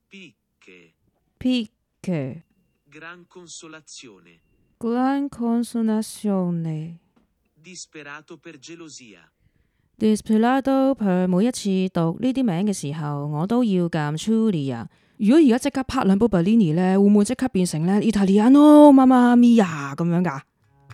Picche Gran consolazione. Gran consolazione Disperato per gelosia. Disperato per 每一次讀呢啲名嘅時候，我都要撳 Julia。如果而家即刻拍兩部 Bellini 咧，會唔會即刻變成咧 Italiano Mamma Mia 咁樣㗎？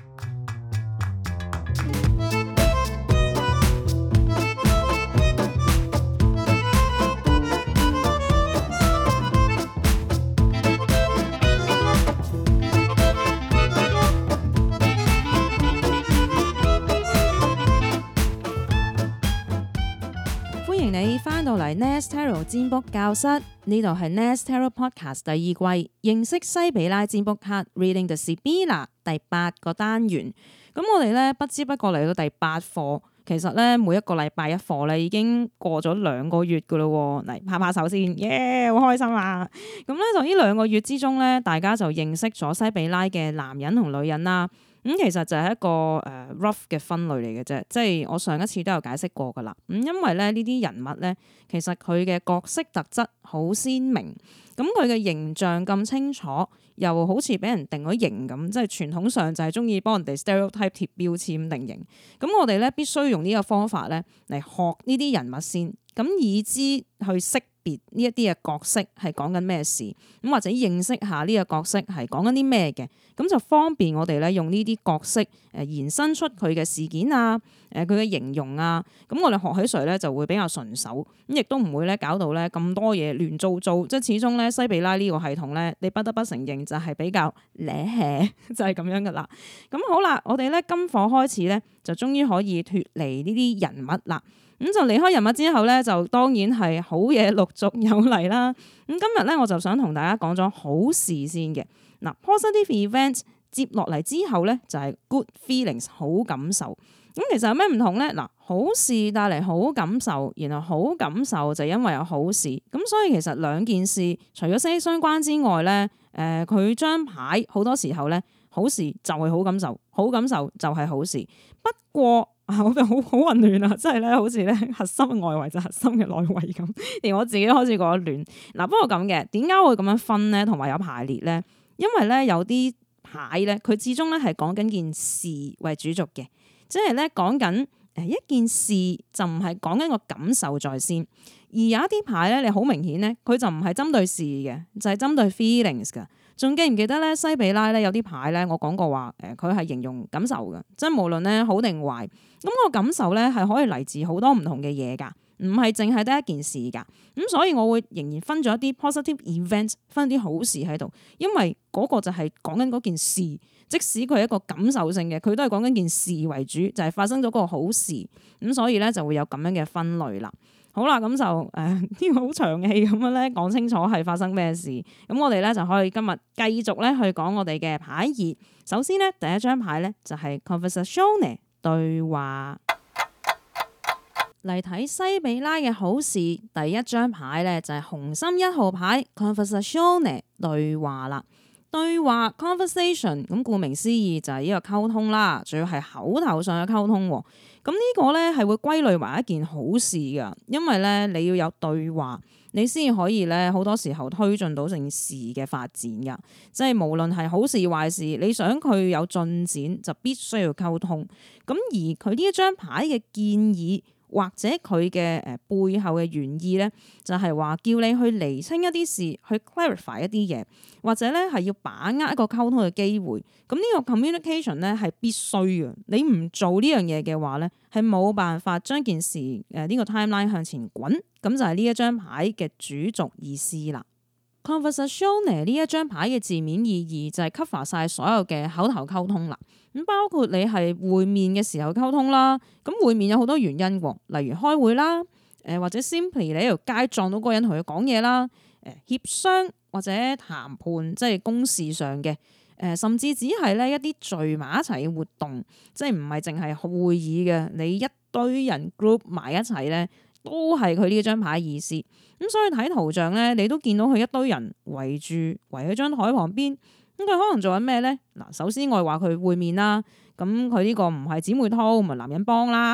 歡迎你翻到嚟 Nest Tarot 占卜教室，呢度係 Nest Tarot Podcast 第二季，認識西比拉占卜卡 Reading the Sibilla 第8個單元。咁我哋咧不知不覺嚟到第8課，其實咧每一個禮拜一課咧已經過咗2個月噶咯。嚟拍拍手先，耶，好開心啊！咁咧就呢2個月之中咧，大家就認識咗西比拉嘅男人同女人啦。其實就係一個rough 嘅分類嚟嘅啫，即係我上一次都有解釋過噶啦。因為咧呢啲人物咧，其實佢嘅角色特質好鮮明，咁佢嘅形象咁清楚，又好似俾人定咗型咁，即係傳統上就係中意幫人哋 stereotype 貼標籤定型。咁我哋咧必須用呢個方法咧嚟學呢啲人物先，咁以知去識別呢一啲嘅角色係講緊咩事，咁或者認識下呢個角色係講緊啲咩嘅，咁就方便我哋咧用呢啲角色延伸出佢嘅事件啊，佢嘅形容啊，咁我哋學起上咧就會比較順手，咁亦都唔會咧搞到咧咁多嘢亂糟糟，即係始終咧西比拉呢個系統咧，你不得不承認就係比較咧就係咁樣噶啦。咁好啦，我哋咧今課開始咧就終於可以脫離呢啲人物啦。咁就離開人物之後咧，就當然係好嘢陸續有嚟啦。咁今日咧，我就想同大家講咗好事先嘅。嗱，positive events 接落嚟之後咧，就係 good feelings 好感受。咁其實有咩唔同咧？嗱，好事帶嚟好感受，然後好感受就因為有好事。咁所以其實兩件事除咗息息相關之外咧，佢張牌好多時候咧，好事就係好感受，好感受就係好事。不過我哋好混亂啊！即係咧，好似咧核心嘅外圍就核心嘅內圍咁，連我自己開始覺得亂。嗱，不過咁嘅，點解會咁樣分咧？同埋有排列咧？因為咧有啲牌咧，佢始終咧係講緊件事為主軸嘅，即係咧講緊一件事就唔係講緊個感受在先。而有一啲牌咧，你好明顯咧，佢就唔係針對事嘅，就係針對 feelings 㗎。仲記唔記得咧？西比拉咧有啲牌咧，我講過話佢係形容感受嘅，即係無論咧好定壞，咁個感受咧係可以嚟自好多唔同嘅嘢㗎，唔係淨係得一件事㗎。咁所以我會仍然分咗一啲 positive events， 分啲好事喺度，因為嗰個就係講緊嗰件事，即使佢係一個感受性嘅，佢都係講緊件事為主，就係發生咗個好事。咁所以咧就會有咁樣嘅分類啦。好啦，咁就呢個好長氣咁樣咧，講清楚係發生咩事。咁我哋咧就可以今日繼續咧去講我哋嘅牌義。首先咧，第一張牌咧就係 conversazione 對話。嚟睇西比拉嘅好事，第一張牌咧就係紅心1號牌 conversazione 對話啦。對話 conversation， 咁顧名思義就係呢個溝通啦，仲要係口頭上嘅溝通。咁呢個咧係會歸類為一件好事噶，因為咧你要有對話，你先可以咧好多時候推進到件事嘅發展噶。即係無論係好事壞事，你想佢有進展，就必須要溝通。咁而佢呢一張牌嘅建議，或者佢嘅背後嘅原意咧，就係話叫你去釐清一啲事，去 clarify 一啲嘢，或者咧係要把握一個溝通嘅機會。咁呢個 communication 咧係必須嘅，你唔做呢樣嘢嘅話咧，係冇辦法將件事呢個 timeline 向前滾。咁就係呢一張牌嘅主軸意思啦。conversazione 呢一張牌嘅字面意義就係 cover 晒所有嘅口頭溝通啦。咁包括你係會面嘅時候溝通啦，咁會面有好多原因喎，例如開會啦，或者 simply 你喺條街撞到個人同佢講嘢啦，協商或者談判，即係公事上嘅，甚至只係咧一啲聚埋一齊嘅活動，即係唔係淨係會議嘅，你一堆人 group 埋一齊咧，都係佢呢張牌意思。咁所以睇圖像咧，你都見到佢一堆人圍喺張台旁邊。咁佢可能做緊咩咧？嗱，首先我話佢會面啦，咁佢呢個唔係姊妹淘，唔係男人幫啦。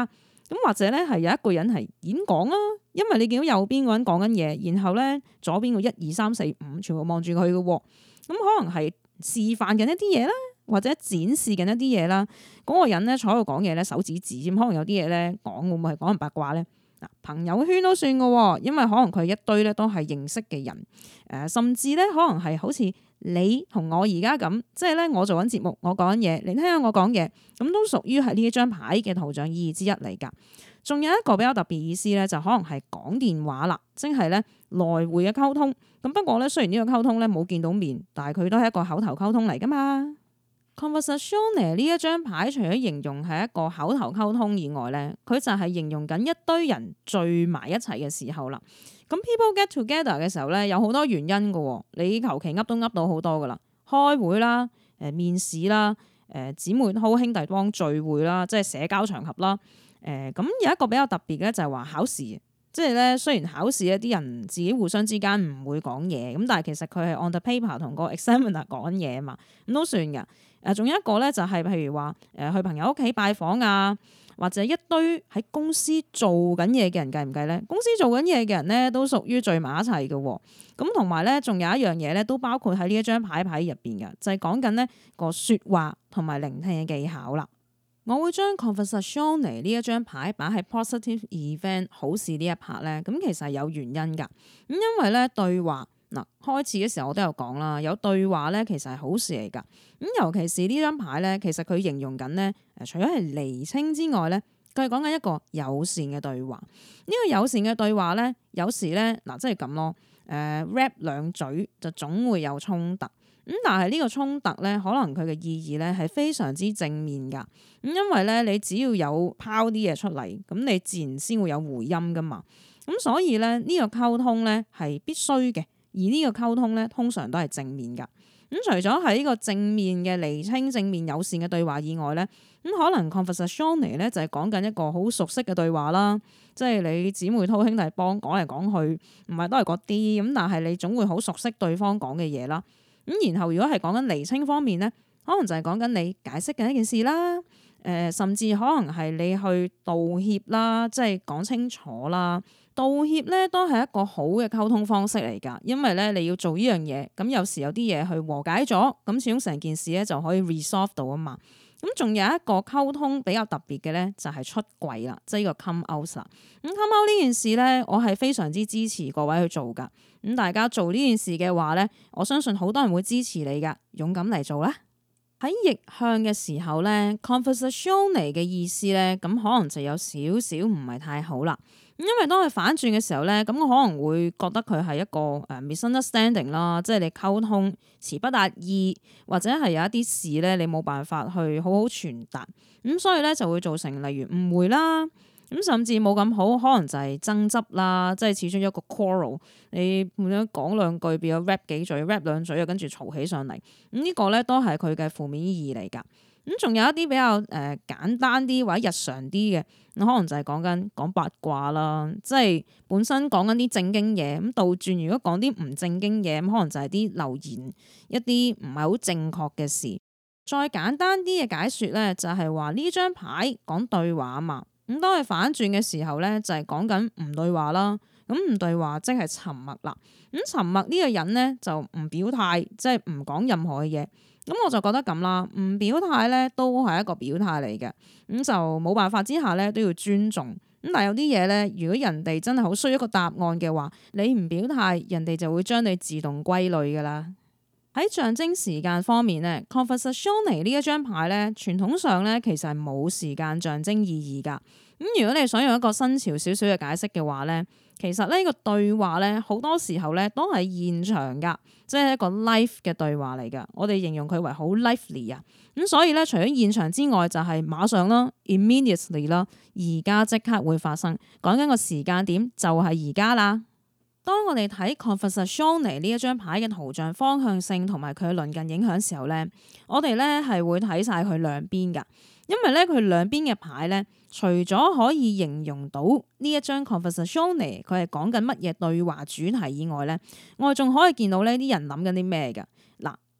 咁或者咧係有一個人係演講啦，因為你見到右邊個人講緊嘢，然後咧左邊個1、2、3、4、5全部望住佢嘅喎，咁可能係示範緊一啲嘢啦，或者展示緊一啲嘢啦。嗰個人咧坐喺度講嘢咧，手指指咁，可能有啲嘢咧講會唔會係講人八卦咧？嗱，朋友圈都算嘅，因為可能佢一堆咧都係認識嘅人，甚至咧可能係好似你同我而家咁，即係咧我做緊節目，我講緊嘢，你聽下我講嘢，咁都屬於係呢一張牌嘅圖像意義之一嚟㗎。仲有一個比較特別意思咧，就可能係講電話啦，即係咧來回嘅溝通。咁不過咧，雖然呢個溝通咧冇見到面，但係佢都係一個口頭溝通嚟㗎嘛。Conversazione 呢一張牌，除咗形容係一個口頭溝通以外咧，佢就係形容緊一堆人聚埋一齊嘅時候啦。咁 people get together 嘅時候咧，有好多原因㗎。你求其噏都噏到好多㗎啦，開會啦、面試啦、姊妹淘兄弟幫聚會啦，即係社交場合啦。咁有一個比較特別嘅就係話考試，即係咧雖然考試一啲人自己互相之間唔會講嘢，咁但係其實佢係 on the paper 同個 examiner 講嘢啊嘛，咁都算㗎。仲有一個咧就係譬如話去朋友屋企拜訪啊，或者一堆喺公司做緊嘢嘅人計唔計咧？公司做緊嘢嘅人咧都屬於聚埋一齊嘅喎。咁同埋咧仲有一樣嘢咧都包括喺呢一張牌入邊嘅，就係講緊呢個説話同埋聆聽嘅技巧啦。我會將 Conversazione 呢一張牌擺喺 positive event 好事呢一 part 咧，咁其實係有原因㗎。咁因為咧對話。嗱，開始嘅時候我都有講啦，有對話咧其實係好事嚟㗎。咁尤其是呢張牌咧，其實佢形容緊咧，除咗係釐清之外咧，佢係講緊一個友善嘅對話。呢個友善嘅對話咧，有時咧嗱，即係咁咯。rap 兩嘴就總會有衝突。咁但係呢個衝突咧，可能佢嘅意義咧係非常之正面㗎。咁因為咧，你只要有拋啲嘢出嚟，咁你自然先會有回音㗎嘛。咁所以咧，呢個溝通咧係必須嘅。而呢個溝通咧，通常都係正面㗎。咁除咗喺呢個正面嘅釐清、正面友善嘅對話以外咧，咁可能 Conversazione 咧就係講緊一個好熟悉嘅對話啦。即係你姊妹淘兄弟幫講嚟講去，唔係都係嗰啲咁，但係你總會好熟悉對方講嘅嘢啦。咁然後如果係講緊釐清方面咧，可能就係講緊你解釋緊一件事啦。甚至可能係你去道歉啦，即係講清楚啦。道歉咧都係一個好嘅溝通方式嚟㗎，因為咧你要做呢樣嘢，咁有時有啲嘢去和解咗，咁始終成件事咧就可以 resolve 到啊嘛。咁仲有一個溝通比較特別嘅咧，就係出櫃啦，即係呢個 come out 啦。咁 come out 呢件事咧，我係非常之支持各位去做㗎。咁大家做呢件事嘅話咧，我相信好多人會支持你㗎，勇敢嚟做啦。喺逆向嘅時候咧 Conversazione 嘅意思咧，咁可能就有少少唔係太好啦。因為當佢反轉嘅時候咧，咁我可能會覺得佢係一個misunderstanding 啦，即係你溝通詞不達意，或者係有一啲事咧你冇辦法去好好傳達，咁所以咧就會造成例如誤會啦，咁甚至冇咁好，可能就係爭執啦，即係始終一個 quarrel，你咁樣講兩句變咗 rap 幾嘴 rap 兩嘴啊，跟住嘈起上嚟，咁呢個咧都係佢嘅負面意義嚟㗎。咁仲有一啲比較簡單啲或者日常啲嘅，可能就係講八卦啦，即係本身講緊啲正經嘢，咁倒轉如果講啲唔正經嘢，咁可能就係啲流言一啲唔係好正確嘅事。再簡單啲嘅解說咧，就係話呢張牌講對話啊嘛，咁當佢反轉嘅時候咧，就係講緊唔對話啦。咁唔對話即係沉默啦。咁沉默呢個人咧就唔表態，即係唔講任何嘅嘢。咁我就覺得咁啦，唔表態咧都係一個表態嚟嘅，咁就冇辦法之下咧都要尊重。咁但係有啲嘢咧，如果人哋真係好需要一個答案嘅話，你唔表態，人哋就會將你自動歸類噶啦。喺象徵時間方面咧 Conversazione 呢一張牌咧，傳統上咧其實係冇時間象徵意義噶。咁如果你想用一個新潮少少嘅解釋嘅話咧，其實呢個對話咧好多時候咧都係現場噶，即係一個 live 嘅對話嚟噶。我哋形容佢為好 lively 啊。咁所以咧，除咗現場之外，就係馬上啦 ，immediately 啦，而家即刻會發生。講緊個時間點就係而家啦。當我哋睇 Conversazione 呢一張牌嘅圖像方向性同埋佢鄰近影響時候咧，我哋咧係會睇晒佢兩邊噶。因為咧佢兩邊嘅牌咧，除咗可以形容到呢一張 Conversazione 佢係講緊乜嘢對話主題以外咧，我哋仲可以見到呢啲人諗緊啲咩㗎。嗱，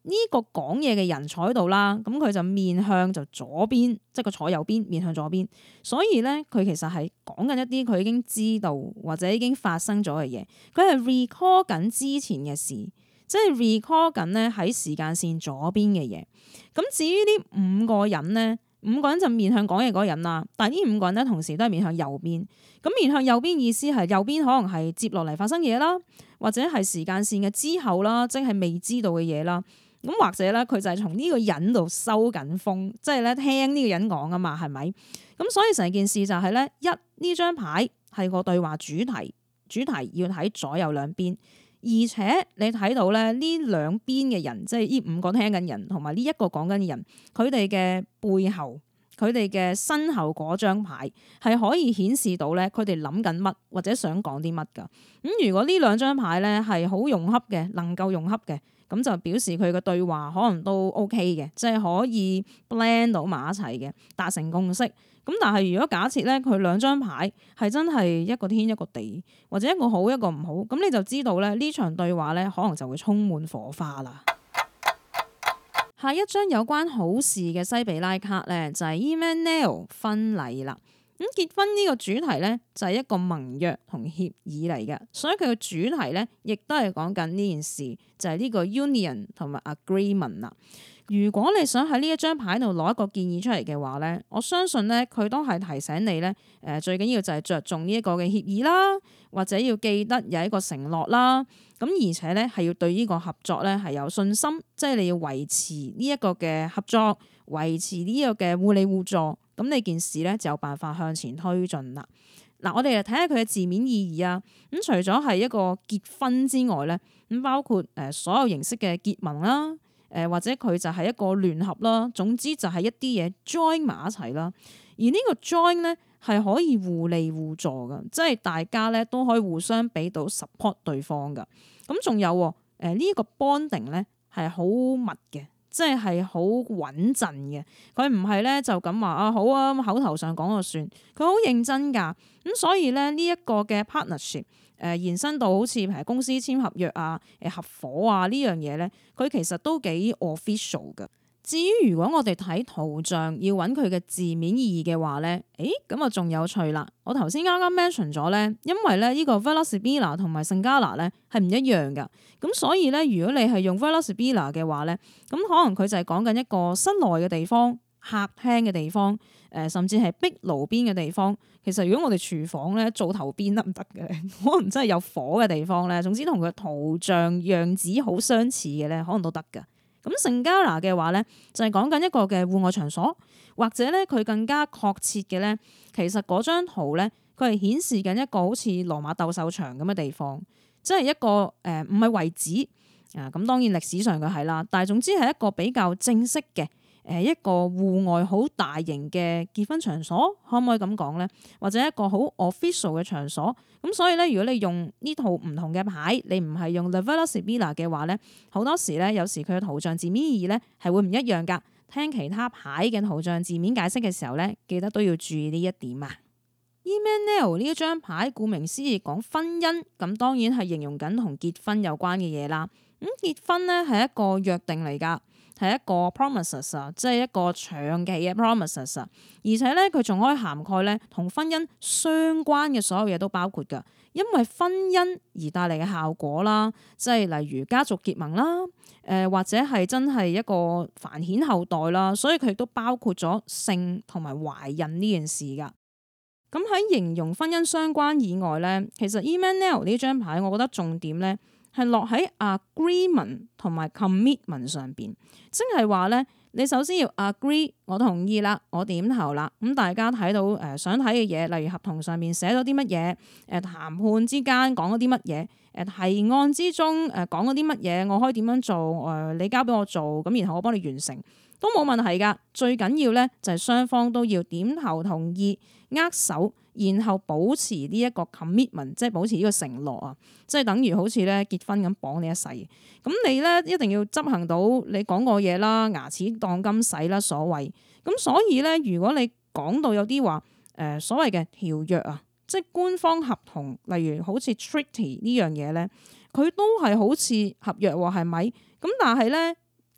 呢個講嘢嘅人坐喺度啦，咁佢就面向就左邊，即係佢坐右邊面向左邊，所以咧佢其實係講緊一啲佢已經知道或者已經發生咗嘅嘢，佢係 recall 緊之前嘅事，即係 recall 緊咧喺時間線左邊嘅嘢。咁至於呢五個人咧，五個人就面向講嘢嗰個人啦，但係呢五個人咧同時都係面向右邊。咁面向右邊意思係右邊可能係接落嚟發生嘢啦，或者係時間線嘅之後啦，即係未知道嘅嘢啦。咁或者咧，佢就係從呢個人度收緊風，即係咧聽呢個人講啊嘛，係咪？咁所以成件事就係咧，呢張牌係個對話主題，主題要睇左右兩邊，而且你睇到咧呢兩邊嘅人，即係呢五個聽緊人同埋呢一個講緊嘅人，佢哋嘅背後，佢哋嘅身後嗰張牌係可以顯示到咧，佢哋諗緊乜或者想講啲乜噶。咁如果呢兩張牌咧係好融洽嘅，能夠融洽嘅。咁就表示佢嘅對話可能都 OK 嘅，即係可以 blend 到埋一齊嘅，達成共識。咁但係如果假設咧，佢兩張牌係真係一個天一個地，或者一個好一個唔好，咁你就知道咧呢場對話咧可能就會充滿火花啦。下一張有關好事嘅西比拉卡咧，就係 Emmanuel 婚禮啦。咁結婚呢個主題咧就係一個盟約同協議嚟嘅，所以佢嘅主題咧亦都係講緊呢件事，就係呢個 union 同埋 agreement 啦。如果你想喺呢一張牌度攞一個建議出嚟嘅話咧，我相信咧佢都係提醒你咧，最緊要就係着重呢一個嘅協議啦，或者要記得有一個承諾啦。咁而且咧係要對呢個合作咧係有信心，即係你要維持呢一個嘅合作，維持呢個嘅互利互助。咁呢件事咧就有辦法向前推進啦。嗱，我哋嚟睇下佢嘅字面意義啊。咁除咗係一個結婚之外咧，咁包括所有形式嘅結盟啦，或者佢就係一個聯合啦。總之就係一啲嘢 join 埋一齊啦。而呢個 join 咧係可以互利互助㗎，即係大家咧都可以互相俾到 support 對方㗎。咁仲有呢個 bonding 咧係好密嘅。即係好穩陣嘅，佢唔係咧就咁話啊好啊，口頭上講就算，佢好認真㗎。咁所以咧呢一個嘅 partnership 延伸到好似譬如公司簽合約啊、合夥啊呢樣嘢咧，佢其實都幾 official 㗎。至於如果我哋睇圖像要揾佢嘅字面意義嘅話咧，咁啊仲有趣啦！我頭先啱啱 mention 咗咧，因為咧呢個 Vela Sibila 同埋聖加拿咧係唔一樣噶，咁所以咧如果你係用 Vela Sibila 嘅話咧，咁可能佢就係講緊一個室內嘅地方、客廳嘅地方，甚至係壁爐邊嘅地方。其實如果我哋廚房咧做頭邊得唔得嘅？可能真係有火嘅地方咧，總之同佢圖像樣子好相似嘅咧，可能都得噶。咁聖加拿嘅話咧，就係講緊一個嘅戶外場所，或者咧佢更加確切嘅咧，其實嗰張圖咧，佢係顯示緊一個好似羅馬鬥獸場咁嘅地方，即係一個唔係遺址啊。咁當然歷史上嘅係啦，但係總之係一個比較正式嘅一個戶外好大型嘅結婚場所，可唔可以咁講咧？或者一個好 official 嘅場所。咁所以咧，如果你用呢套唔同嘅牌，你唔係用 The Vela Sibila 嘅話咧，好多時咧，有時佢嘅圖像字面意義咧係會唔一樣噶。聽其他牌嘅圖像字面解釋嘅時候咧，記得都要注意呢一點啊。Emmanuel 呢一張牌，顧名思義講婚姻，咁當然係形容緊同結婚有關嘅嘢啦。咁結婚咧係一個約定嚟噶。係一個 promises 啊，即係一個長期嘅 promises 啊，而且咧佢仲可以涵蓋咧同婚姻相關嘅所有嘢都包括噶，因為婚姻而帶嚟嘅效果啦，即係例如家族結盟啦，或者係真係一個繁衍後代啦，所以佢亦都包括咗性同埋懷孕呢件事噶。咁喺形容婚姻相關以外咧，其實 Emmanuel 呢張牌，我覺得重點咧係落喺 agreement 同埋 commitment 上邊，即係話咧，你首先要 agree， 我同意啦，我點頭啦，咁大家睇到想睇嘅嘢，例如合同上面寫咗啲乜嘢，談判之間講咗啲乜嘢，提案之中講咗啲乜嘢，我可以點樣做，你交俾我做，咁然後我幫你完成都冇問題噶。最緊要咧就係雙方都要點頭同意，握手。然後保持呢一個 commitment， 即係保持呢個承諾啊，即係等於好似咧結婚咁綁你一世。咁你咧一定要執行到你講過嘢啦，牙齒當金使啦，所謂。咁所以咧，如果你講到有啲話所謂嘅條約啊，即係官方合同，例如好似 treaty 呢樣嘢咧，佢都係好似合約喎，係咪？咁但係咧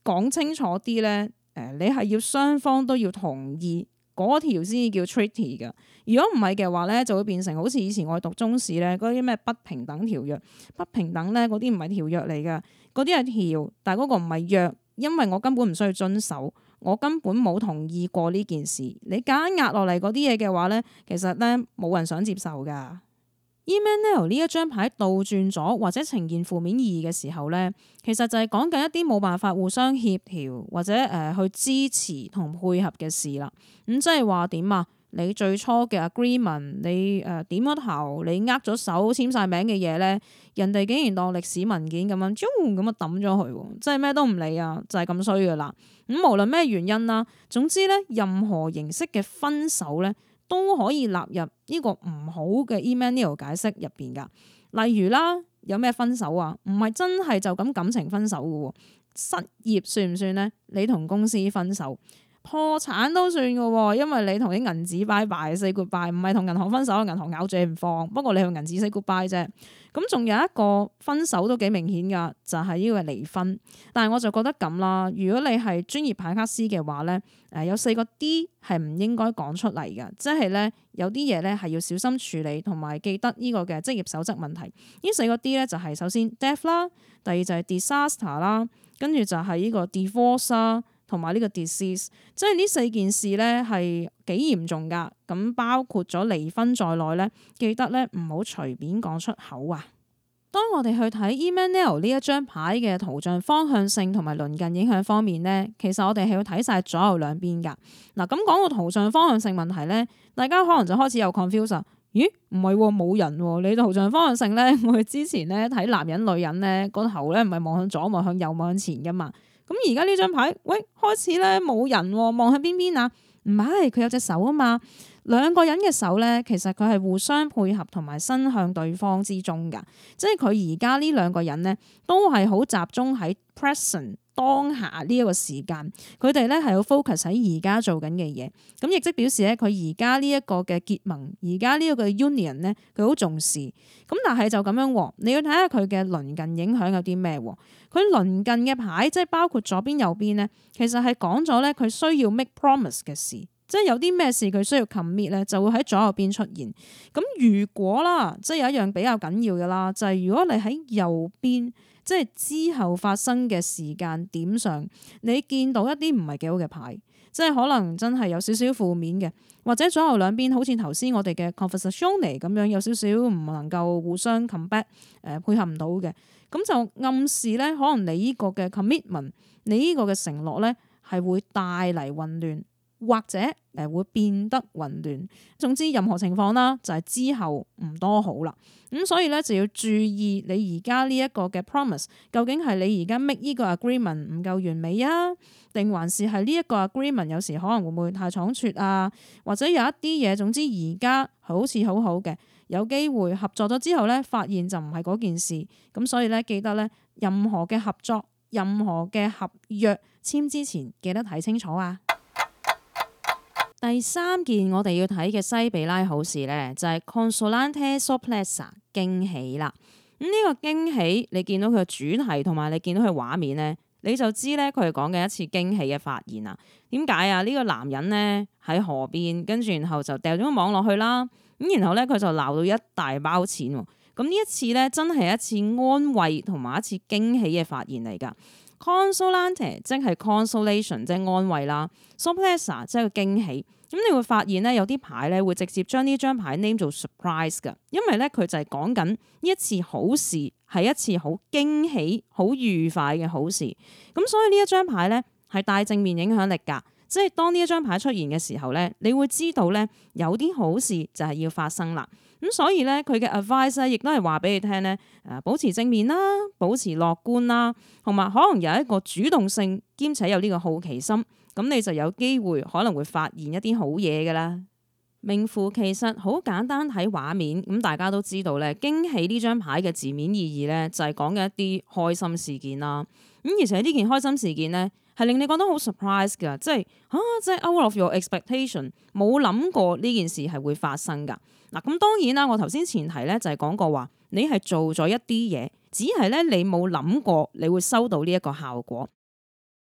講清楚啲咧，你係要雙方都要同意嗰條先至叫 treaty 㗎。如果唔係嘅話咧，就會變成好似以前我讀中史咧嗰啲咩不平等條約，不平等咧嗰啲唔係條約嚟㗎，嗰啲係條，但係嗰個唔係約，因為我根本唔需要遵守，我根本冇同意過呢件事。你夾硬壓落嚟嗰啲嘢嘅話咧，其實咧冇人想接受㗎。Emmanuel 呢一張牌倒轉咗或者呈現負面意義嘅時候咧，其實就係講緊一啲冇辦法互相協調或者去支持同配合嘅事啦。咁即係話點啊？你最初嘅 agreement， 你點咗頭，你握咗手簽晒名嘅嘢咧，人哋竟然當歷史文件咁樣，咁啊抌咗佢，即係咩都唔理啊，就係咁衰噶啦。咁無論咩原因啦，總之咧，任何形式嘅分手咧，都可以納入呢個唔好嘅 Emmanuel 解釋入邊噶。例如啦，有咩分手啊？唔係真係就咁感情分手噶，失業算唔算咧？你同公司分手。破產都算嘅，因為你同啲銀紙拜拜 say goodbye， 唔係同銀行分手，銀行咬住你唔放。不過你同銀紙 say goodbye 啫。咁仲有一個分手都幾明顯噶，就係呢個離婚。但係我就覺得咁啦，如果你係專業牌卡師嘅話咧，有4個 D 係唔應該講出嚟嘅，即係咧有啲嘢咧係要小心處理，同埋記得呢個嘅職業守則問題。呢4個 D 咧就係首先 death 啦，第二就係 disaster 啦，跟住就係呢個 divorce 啦。同埋呢個 disease， 即係呢4件事咧係幾嚴重噶，咁包括咗離婚在內咧，記得咧唔好隨便講出口啊！當我哋去睇 Emmanuel 呢一張牌嘅圖像方向性同埋鄰近影響方面咧，其實我哋係要睇晒左右兩邊噶。嗱，咁講個圖像方向性問題咧，大家可能就開始有 confuse 啊。咦，唔係冇人喎？你圖像方向性咧，我哋之前咧睇男人女人咧個頭咧唔係望向左望向右望向前噶嘛。咁而家呢張牌，喂，開始咧冇人喎，望向邊邊啊？唔係，佢有隻手啊嘛。兩個人嘅手咧，其實佢係互相配合同埋伸向對方之中噶。即係佢而家呢兩個人咧，都係好集中喺 present 當下呢一個時間。佢哋咧係好 focus 喺而家做緊嘅嘢。咁亦即表示咧，佢而家呢一個嘅結盟，而家呢一個 union 咧，佢好重視。咁但係就咁樣，你要睇下佢嘅鄰近影響有啲咩？佢鄰近嘅牌，即係包括左邊右邊咧，其實係講咗咧佢需要 make promise 嘅事，即係有啲咩事佢需要 commit 咧，就會喺左右邊出現。咁如果啦，即係有一樣比較緊要嘅啦，就係如果你喺右邊，即係之後發生嘅時間點上，你見到一啲唔係幾好嘅牌，即係可能真係有少少負面嘅，或者左右兩邊好似頭先我哋嘅 conversazione 咁樣，有少少唔能夠互相 combat 配合唔到嘅。咁就暗示咧，可能你呢個嘅 commitment， 你呢個嘅承諾咧，係會帶嚟混亂，或者會變得混亂。總之任何情況啦，就係之後唔多好啦。咁所以咧就要注意你而家呢一個嘅 promise， 究竟係你而家 make 呢個 agreement 唔夠完美啊，定還是係呢一個 agreement 有時可能會唔會太倉促啊，或者有一啲嘢，總之而家好似好好嘅。有機會合作咗之後咧，發現就唔係嗰件事，咁所以咧記得咧，任何嘅合作、任何嘅合約簽之前，記得睇清楚啊！第三件我哋要睇嘅西比拉好事咧，就係 consolante sorpresa 驚喜啦。咁呢個驚喜，你見到佢嘅主題同埋你見到佢畫面咧，你就知咧佢係講緊一次驚喜嘅發現啊！點解啊？呢個男人咧喺河邊，跟住然後就掉咗個網落去啦。咁然後咧，佢就撈到一大包錢喎。咁呢一次咧，真係一次安慰同埋一次驚喜嘅發現嚟㗎。Consolante 即係 consolation， 即係安慰啦。Sorpresa 即係個驚喜。咁你會發現咧，有啲牌咧會直接將呢張牌 name 做 surprise 㗎，因為咧佢就係講緊呢一次好事係一次好驚喜、好愉快嘅好事。咁所以呢一張牌咧係帶正面影響力㗎。即係當呢一張牌出現嘅時候咧，你會知道咧有啲好事就係要發生啦。咁所以咧佢嘅 advice 咧亦都係話俾你聽咧，保持正面啦，保持樂觀啦，同埋可能有一個主動性兼且有呢個好奇心，咁你就有機會可能會發現一啲好嘢噶啦。名符其實好簡單，睇畫面咁大家都知道咧，驚喜呢張牌嘅字面意義咧就係講嘅一啲開心事件啦。咁而且呢件開心事件咧，係令你覺得好 surprise 㗎，即係 out of your expectation， 冇諗過呢件事係會發生㗎。嗱，咁當然啦，我頭先前提咧就係講過話，你係做咗一啲嘢，只係咧你冇諗過你會收到呢一個效果。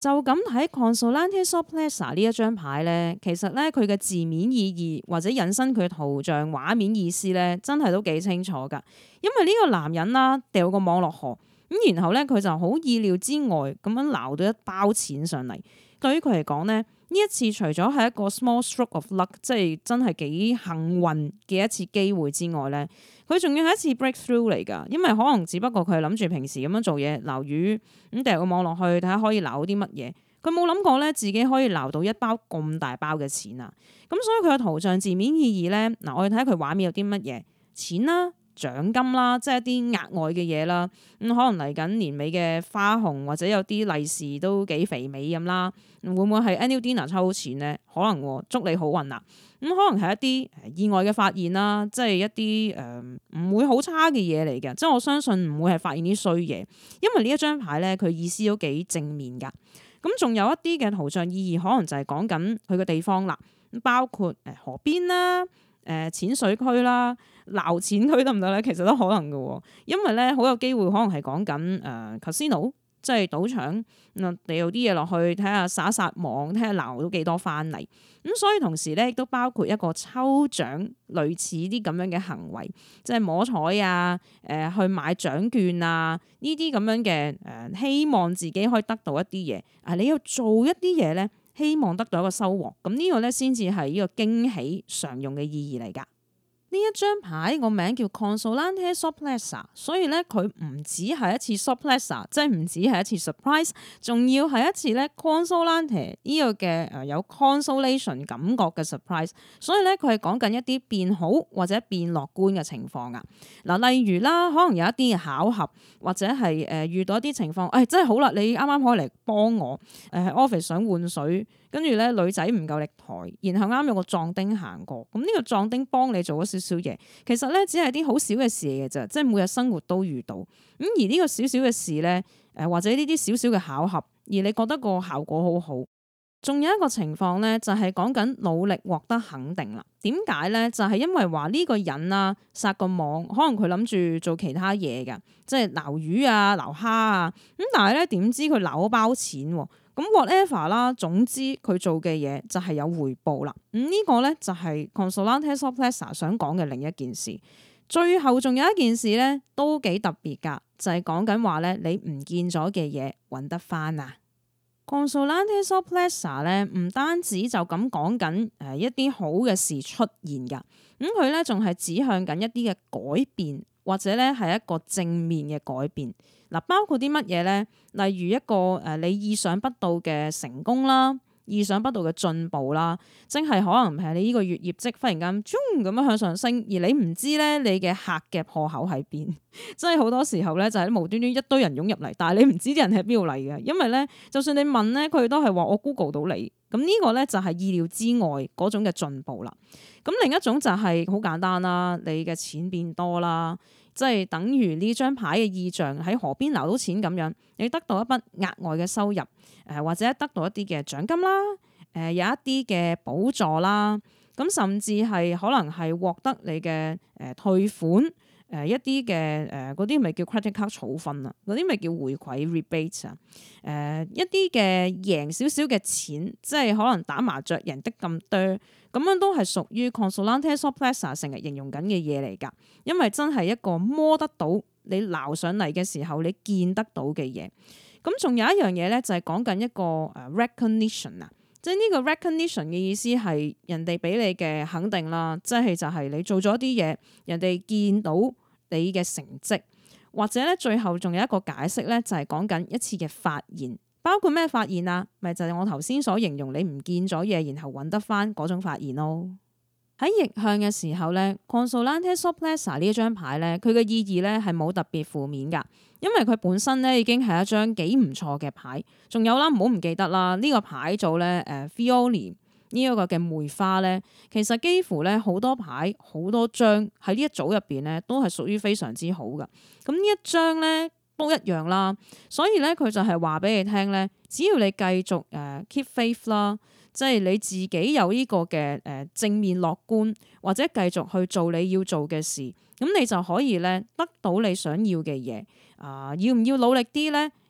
就咁睇 Consolante Sorpresa 呢一張牌咧，其實咧佢嘅字面意義或者引申佢嘅圖像畫面意思咧，真係都幾清楚噶。因為呢個男人啦掉個網落河，咁然後咧佢就好意料之外咁樣撈到一包錢上嚟。對於佢嚟講咧，呢一次除咗係一個 small stroke of luck，即係真係幾幸運嘅一次機會之外咧，佢仲要係一次 breakthrough 嚟㗎。因為可能只不過佢係諗住平時咁樣做嘢撈魚，咁掉個網落去睇下可以撈到啲乜嘢。佢冇諗過咧自己可以撈到一包咁大包嘅錢啊！咁所以佢嘅圖像字面意義咧，嗱我哋睇下佢畫面有啲乜嘢錢啦。獎金啦，即係一啲額外嘅嘢啦，咁可能嚟緊年尾嘅花紅或者有啲利是都幾肥美咁啦，會唔會係 annual dinner 抽到錢咧？可能祝你好運啦，咁可能係一啲意外嘅發現啦，即係一啲唔會好差嘅嘢嚟嘅，即係我相信唔會係發現啲衰嘢，因為呢一張牌咧佢意思都幾正面噶，咁仲有一啲嘅圖像意義，可能就係講緊佢嘅地方啦，包括河邊啦。淺水區啦，撈錢區得唔得咧？其實都可能嘅，因為咧好有機會可能係講緊casino，即係賭場，掉啲嘢落去睇下撒一撒網，睇下撈到幾多翻嚟。咁所以同時咧亦都包括一個抽獎類似啲咁樣嘅行為，即係摸彩啊，去買獎券啊，呢啲咁樣嘅希望自己可以得到一啲嘢。你要做一啲嘢咧。希望得到一個收穫，咁呢個咧先至係呢個驚喜常用嘅意義嚟㗎。呢一張牌個名叫 Consolante Sorpresa， 所以咧佢唔止係一次 Sorpresa， 即係唔止係一次 surprise， 仲要係一次咧 Consolante 呢個嘅有 consolation 感覺嘅 surprise， 所以咧佢係講緊一啲變好或者變樂觀嘅情況啊。嗱，例如啦，可能有一啲嘅巧合或者係遇到一啲情況，真係好啦，你啱啱可以嚟幫我office 想換水。跟住咧，女仔唔夠力抬，然後啱有個壯丁行過，咁呢個壯丁幫你做咗少少嘢，其實咧只係啲好少嘅事嚟嘅啫，即係每日生活都遇到。咁而呢個少少嘅事咧，或者呢啲少少嘅巧合，而你覺得個效果好好。仲有一個情況咧，就係講緊努力獲得肯定啦。點解咧？就係因為話呢個人啊，撒個網，可能佢諗住做其他嘢㗎，即係撈魚啊、撈蝦啊，咁但係咧點知佢撈咗包錢喎。咁 whatever 啦，總之佢做嘅嘢就係有回報啦。呢個咧就係 Consolante Sorpresa 想講嘅另一件事。最後仲有一件事咧，都幾特別㗎，就係講緊話咧，你唔見咗嘅嘢揾得翻啊！Consolante Sorpresa 咧，唔單止就咁講緊一啲好嘅事出現㗎，咁佢咧仲係指向緊一啲嘅改變，或者咧係一個正面嘅改變。嗱，包括啲乜嘢咧？例如一個你意想不到嘅成功啦，意想不到嘅進步啦，即係可能係你呢個月業績忽然間咁樣向上升，而你唔知咧你嘅客嘅破口喺邊，即係好多時候咧就係無端端一堆人湧入嚟，但係你唔知啲人喺邊度嚟嘅，因為咧就算你問咧，佢都係話我 Google 到你，咁呢個咧就係意料之外嗰種嘅進步啦。咁另一種就係好簡單啦，你嘅錢變多啦。即係等於呢張牌嘅意象喺河邊撈到錢咁樣，你得到一筆額外嘅收入，或者得到一啲嘅獎金啦，有一啲嘅補助啦，咁甚至係可能係獲得你嘅退款，一啲嘅嗰啲咪叫 credit card 儲分啊，嗰啲咪叫回饋 rebate 啊，一啲嘅贏少少嘅錢，即係可能打麻雀贏得咁多，咁樣都係屬於 Consolante Sorpresa 成日形容緊嘅嘢嚟㗎，因為真係一個摸得到你撈上嚟嘅時候你見得到嘅嘢。咁仲有一樣嘢咧，就係講緊一個recognition 啊，即係呢個 recognition 嘅意思係人哋俾你嘅肯定啦，即係就係你做咗啲嘢，人哋見到你嘅成績，或者咧最後仲有一個解釋咧，就係講緊一次嘅發現。包括咩發現啊？咪就係我頭先所形容你唔見咗嘢，然後揾得翻嗰種發現咯。喺逆向嘅時候咧 Consolante Sorpresa 呢一張牌咧，佢嘅意義咧係冇特別負面噶，因為佢本身咧已經係一張幾唔錯嘅牌。仲有啦，唔好唔記得啦，呢個牌組咧Fiori 呢一個嘅梅花咧，其實幾乎咧好多牌好多張喺呢一組入邊咧都係屬於非常之好噶。咁呢一張咧都一樣啦，所以咧佢就係話俾你聽咧，只要你繼續keep faith 啦，即係你自己有呢個嘅正面樂觀，或者繼續去做你要做嘅事，咁你就可以咧得到你想要嘅嘢。要唔要努力啲咧？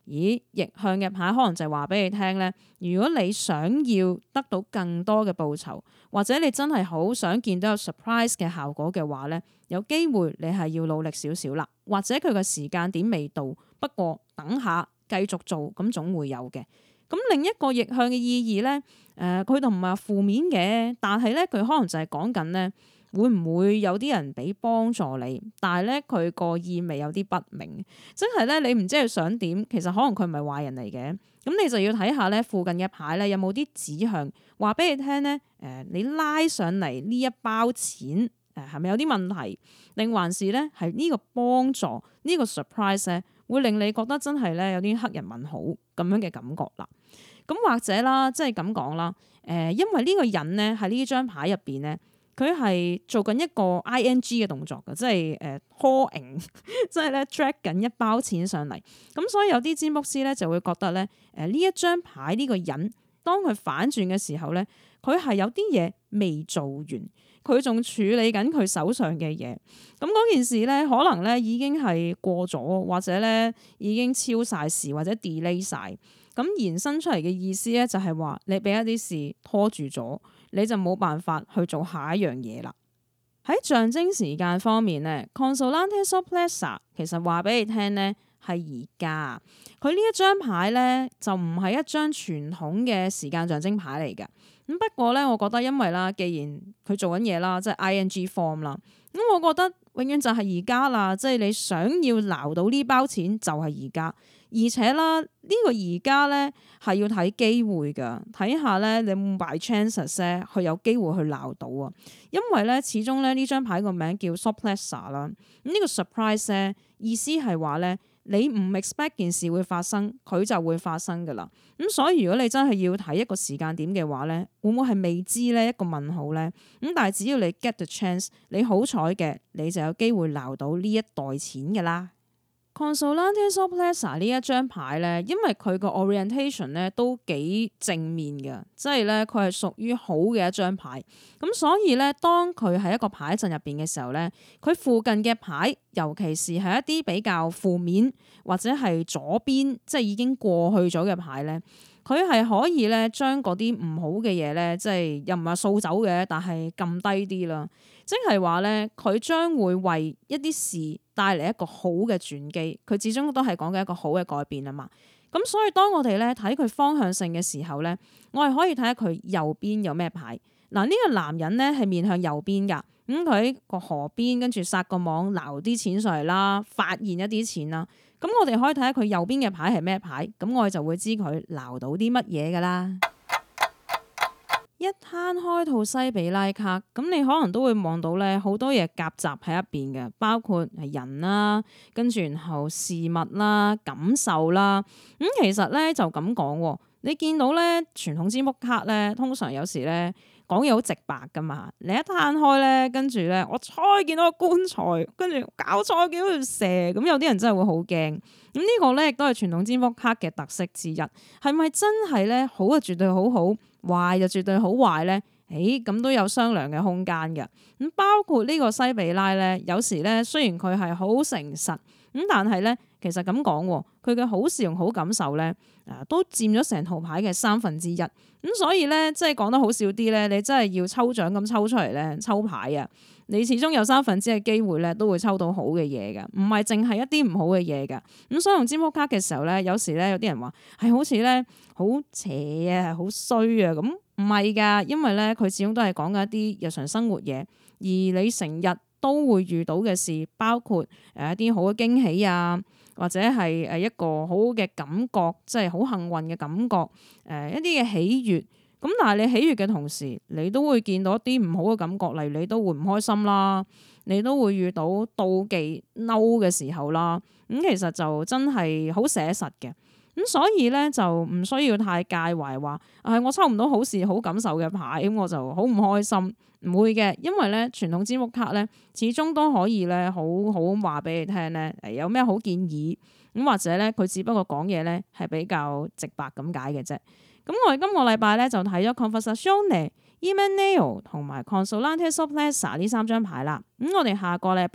咦，逆向嘅牌可能就係話俾你聽咧，如果你想要得到更多嘅報酬，或者你真係好想見到有 surprise 嘅效果嘅話咧，有機會你係要努力少少啦，或者佢個時間點未到，不過等下繼續做，咁總會有嘅。咁另一個逆向嘅意義咧，佢就唔係話負面嘅，但係咧佢可能就係講緊咧。會唔會有啲人俾幫助你？但係咧佢個意味有啲不明，即係咧你唔知佢想點，其實可能佢唔係壞人嚟嘅。咁你就要睇下咧附近嘅牌咧有冇啲指向，話俾你聽咧。你拉上嚟呢一包錢，係咪有啲問題？定還是咧係呢個幫助呢個 surprise 咧，會令你覺得真係咧有啲黑人問號咁樣嘅感覺啦。咁或者啦，即係咁講啦。因為呢個人咧喺呢張牌入邊咧。佢係做緊一個 ing 嘅動作嘅，即係calling，即係咧 drag 緊一包錢上嚟。咁所以有啲占卜師咧就會覺得咧，呢一張牌呢個人，當佢反轉嘅時候咧，佢係有啲嘢未做完，佢仲處理緊佢手上嘅嘢。咁嗰件事咧，可能咧已經係過咗，或者咧已經超晒時，或者 delay 晒。咁延伸出嚟嘅意思咧，就係話你俾一啲事拖住咗。你就冇辦法去做下一樣嘢啦。喺象徵時間方面咧 Consolante Sorpresa 其實話俾你聽咧係而家。佢呢一張牌咧就唔係一張傳統嘅時間象徵牌嚟嘅。咁不過咧，我覺得因為啦，既然佢做緊嘢啦，即係 ing form 啦，咁我覺得永遠就係而家啦。即係你想要撈到呢包錢就係而家。而且啦，呢個而家咧係要睇機會噶，睇下咧你有冇 by chances 咧，佢有機會去鬧到啊。因為咧，始終咧呢張牌個名叫 Sorpresa 啦。咁呢個 surprise 咧意思係話咧，你唔 expect 件事會發生，佢就會發生噶啦。咁所以如果你真係要睇一個時間點嘅話咧，會唔會係未知咧一個問號咧？咁但係只要你 get the chance，你好彩嘅，你就有機會鬧到呢一袋錢噶啦。Consolante Sorpresa 呢一張牌咧，因為佢個 orientation 咧都幾正面嘅，即係咧佢係屬於好嘅一張牌。咁所以咧，當佢喺一個牌陣入邊嘅時候咧，佢附近嘅牌，尤其是係一啲比較負面或者係左邊，即係已經過去咗嘅牌咧，佢係可以咧將嗰啲唔好嘅嘢咧，即係又唔係掃走嘅，但係撳低啲啦。即係話咧，佢將會為一啲事帶嚟一個好嘅轉機，佢始終都係講緊一個好嘅改變啊嘛。咁所以當我哋咧睇佢方向性嘅時候咧，我係可以睇下佢右邊有咩牌。嗱，呢個男人咧係面向右邊噶，咁佢喺個河邊跟住撒個網撈啲錢上嚟啦，發現一啲錢啦。咁我哋可以睇下佢右邊嘅牌係咩牌，咁我哋就會知佢撈到啲乜嘢噶啦。一攤開套西比拉卡，咁你可能都會望到咧好多嘢夾雜喺入邊嘅，包括係人啦，跟住然後事物啦、感受啦。咁其實咧就咁講，你見到咧傳統占卜卡咧，通常有時咧講嘢好直白噶嘛。你一攤開咧，跟住咧我猜見到個棺材，跟住搞錯見到條蛇，咁有啲人真係會好驚。咁呢個咧亦都係傳統占卜卡嘅特色之一。係咪真係咧好就絕對好好？壞就絕對好壞咧，咁都有商量嘅空間嘅。咁包括呢個西比拉咧，有時咧雖然佢係好誠實，咁但係咧其實咁講，佢嘅好事同好感受咧，都佔咗成套牌嘅1/3。咁所以咧，即係講得好少啲咧，你真係要抽獎咁抽出嚟咧，抽牌啊，你始終有1/3嘅機會咧，都會抽到好嘅嘢㗎，唔係淨係一啲唔好嘅嘢㗎。咁所以用占卜卡嘅時候咧，有時咧有啲人話係好似咧好邪啊，好衰啊，咁唔係㗎，因為咧佢始終都係講緊一啲日常生活嘢，而你成日都會遇到嘅事，包括一啲好嘅驚喜啊，或者係一個好嘅感覺，即係好幸運嘅感覺，一啲嘅喜悅。咁但係你喜悅嘅同時，你都會見到一啲唔好嘅感覺，例如你都會唔開心啦，你都會遇到妒忌嬲嘅時候啦。咁其實就真係好寫實嘅。咁所以咧就唔需要太介懷話，我抽唔到好事好感受嘅牌，咁我就好唔開心。唔會嘅，因為咧傳統占卜卡咧，始終都可以咧好好話俾你聽咧，有咩好建議。咁或者咧佢只不過講嘢咧係比較直白咁解嘅啫。咁我哋今個禮拜咧就睇咗 Conversazione、Imeneo 同埋 Consolante Sorpresa 呢3張牌啦。咁我哋下個禮拜咧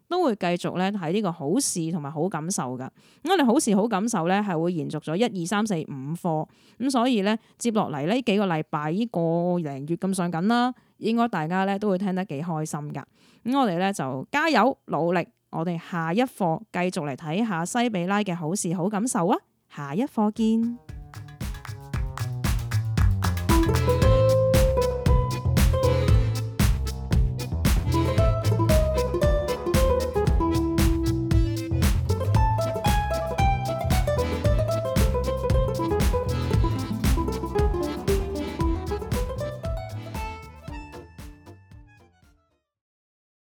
都會繼續咧睇呢個好事同埋好感受㗎。咁我哋好事好感受咧係會延續咗1、2、3、4、5課，咁所以咧接落嚟呢幾個禮拜呢個零月咁上緊啦，應該大家咧都會聽得幾開心㗎。咁我哋咧就加油努力，我哋下一課繼續嚟睇下西比拉嘅好事好感受啊！下一課見。